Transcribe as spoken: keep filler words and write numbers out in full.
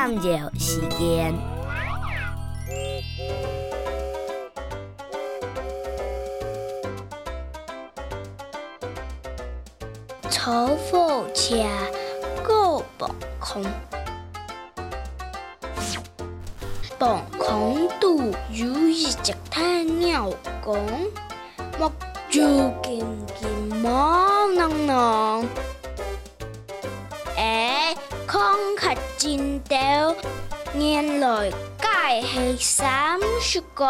探究时间。 炒火车过磅空，磅空度有一只太鸟讲，目睭金金毛囊囊。哎，看较真到，原来介系三十个。